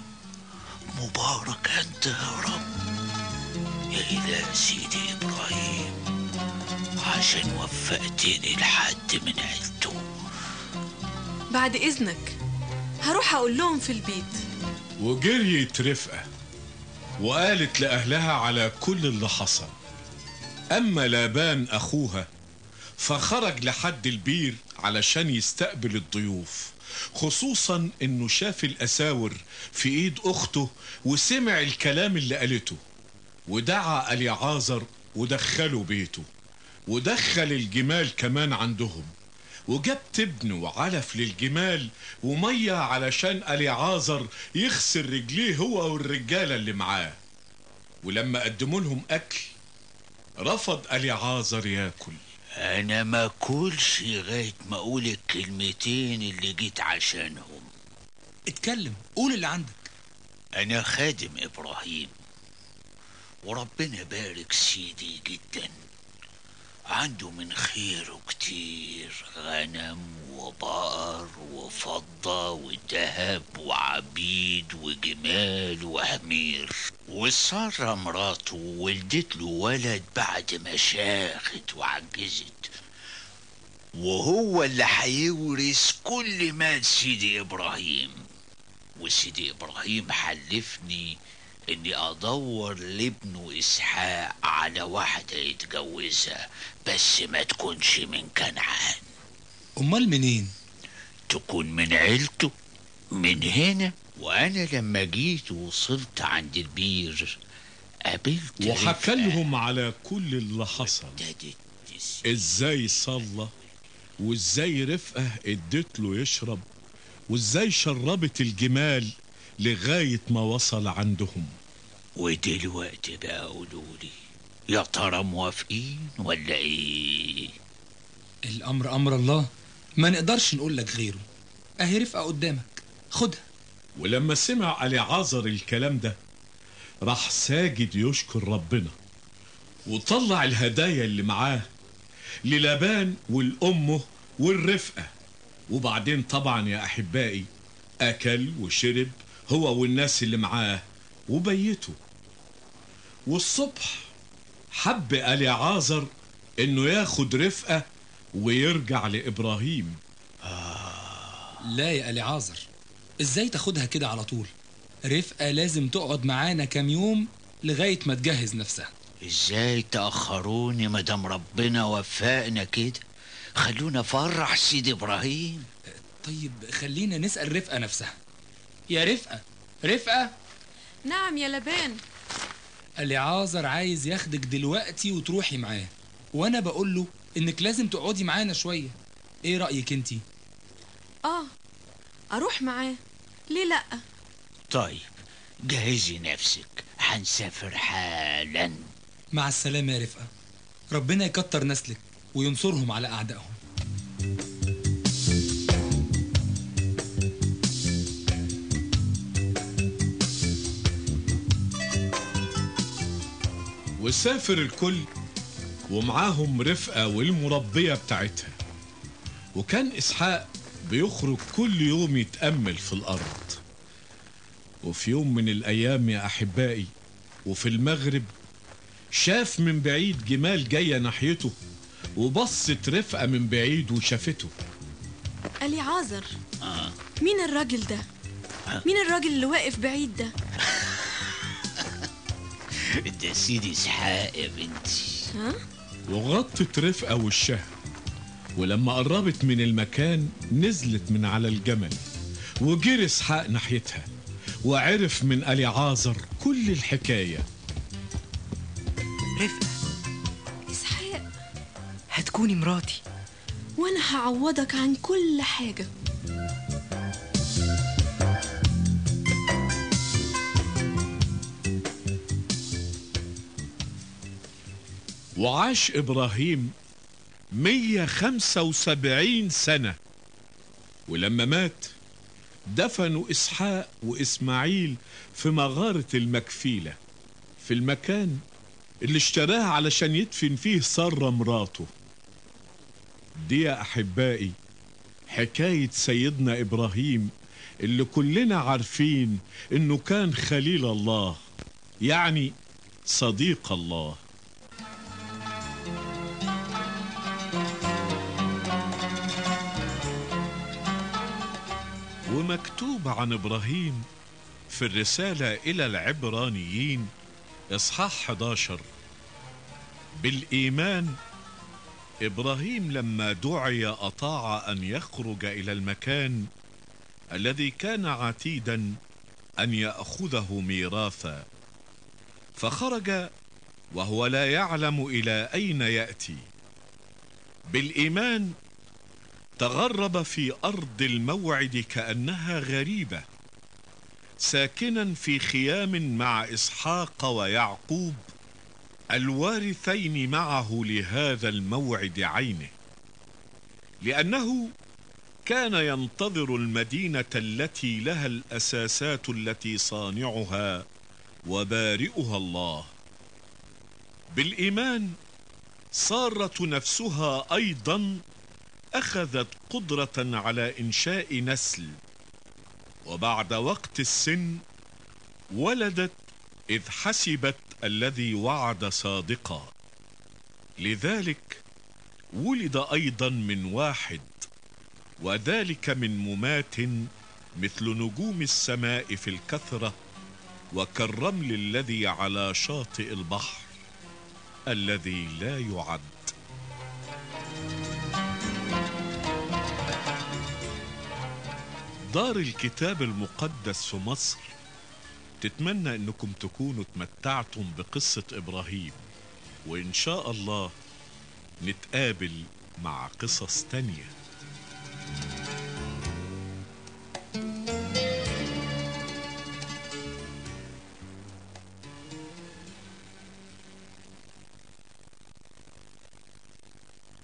مبارك أنت يا رب يا إله سيدي إبراهيم، عشان وفقتني لحد من عيلته. بعد إذنك هروح أقول لهم في البيت. وجريت رفقة وقالت لأهلها على كل اللي حصل. أما لابان أخوها فخرج لحد البير علشان يستقبل الضيوف، خصوصا انه شاف الأساور في ايد اخته وسمع الكلام اللي قالته، ودعا اليعازر ودخله بيته، ودخل الجمال كمان عندهم، وجاب تبن وعلف للجمال ومية علشان اليعازر يغسل رجليه هو والرجالة اللي معاه. ولما قدموا لهم أكل رفض اليعازر ياكل. أنا ما كلش لغاية ما أقول الكلمتين اللي جيت عشانهم. اتكلم، قول اللي عندك. أنا خادم إبراهيم، وربنا بارك سيدي جدا، عنده من خيره كتير، غنم وبقر وفضة وذهب وعبيد وجمال وحمير. وسارة مراته ولدت له ولد بعد ما شاخت وعجزت، وهو اللي هيورث كل مال سيدي إبراهيم. وسيدي إبراهيم حلفني اني ادور لابنه اسحاق على واحدة يتجوزها، بس ما تكونش من كنعان. امال منين؟ تكون من عيلته من هنا. وانا لما جيت ووصلت عند البير قابلت وحكى لهم على كل اللي حصل، ازاي صلى، وازاي رفقة ادت له يشرب، وازاي شربت الجمال لغاية ما وصل عندهم. ودلوقتي بقى قولولي، يا ترى موافقين ولا ايه؟ الامر امر الله، ما نقدرش نقول لك غيره. اهي رفقة قدامك، خدها. ولما سمع اليعازر الكلام ده راح ساجد يشكر ربنا، وطلع الهدايا اللي معاه للابان والأمه والرفقة. وبعدين طبعا يا أحبائي أكل وشرب هو والناس اللي معاه وبيته. والصبح حب اليعازر انه ياخد رفقة ويرجع لإبراهيم. لا يا اليعازر، ازاي تاخدها كده على طول؟ رفقة لازم تقعد معانا كام يوم لغاية ما تجهز نفسها. ازاي تأخروني مدام ربنا وفقنا كده؟ خلونا فرح سيدي إبراهيم. طيب خلينا نسأل رفقة نفسها. يا رفقة، رفقة. نعم يا لبان. اليعازر عايز ياخدك دلوقتي وتروحي معاه، وانا بقول له انك لازم تقعدي معانا شوية. ايه رأيك انتي؟ اروح معاه، ليه لأ؟ طيب جهزي نفسك، هنسافر حالا. مع السلامة يا رفقة، ربنا يكتر نسلك وينصرهم على أعدائهم. وسافر الكل ومعاهم رفقة والمربية بتاعتها. وكان إسحاق بيخرج كل يوم يتأمل في الأرض. وفي يوم من الأيام يا أحبائي وفي المغرب شاف من بعيد جمال جاية ناحيته، وبصت رفقة من بعيد وشافته. أليعازر، مين الراجل ده؟ مين الراجل اللي واقف بعيد ده؟ ده سيدي إسحاق يا بنتي. ها؟ وغطت رفقة وشها، ولما قربت من المكان نزلت من على الجمل، وجري إسحاق ناحيتها وعرف من أليعازر كل الحكاية. رفقة، إسحاق، هتكوني مراتي وأنا هعوضك عن كل حاجة. وعاش إبراهيم 175 سنة، ولما مات دفنوا إسحاق وإسماعيل في مغارة المكفيلة، في المكان اللي اشتراه علشان يدفن فيه سارة مراته. دي يا أحبائي حكاية سيدنا إبراهيم اللي كلنا عارفين إنه كان خليل الله، يعني صديق الله. ومكتوب عن إبراهيم في الرسالة إلى العبرانيين إصحاح 11: بالإيمان إبراهيم لما دعي أطاع أن يخرج إلى المكان الذي كان عتيدا أن يأخذه ميراثا، فخرج وهو لا يعلم إلى أين يأتي. بالإيمان تغرب في أرض الموعد كأنها غريبة، ساكنا في خيام مع إسحاق ويعقوب الوارثين معه لهذا الموعد عينه، لأنه كان ينتظر المدينة التي لها الأساسات التي صانعها وبارئها الله. بالإيمان سارة نفسها أيضا أخذت قدرة على إنشاء نسل، وبعد وقت السن ولدت إذ حسبت الذي وعد صادقا، لذلك ولد أيضا من واحد، وذلك من ممات مثل نجوم السماء في الكثرة، وكالرمل الذي على شاطئ البحر الذي لا يعد. دار الكتاب المقدس في مصر تتمنى انكم تكونوا تمتعتم بقصة ابراهيم، وان شاء الله نتقابل مع قصص تانية.